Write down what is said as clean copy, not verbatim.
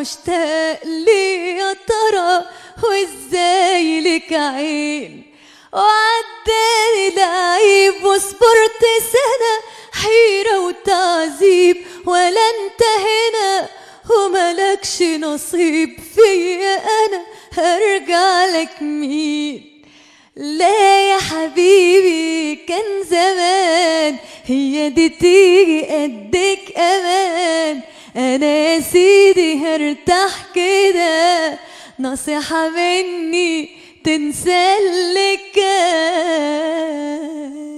مشتاق لي يا ترى، وازاي لك عين وعداني العيب، وصبرت سنة حيرة وتعذيب ولا انتهينا، وملكش نصيب فيا أنا هرجع لك مين؟ لا يا حبيبي كان زمان هي دي تيجي قدك أمان، أنا يا سيدي هرتاح كده، نصيحة مني تنسى اللي كان.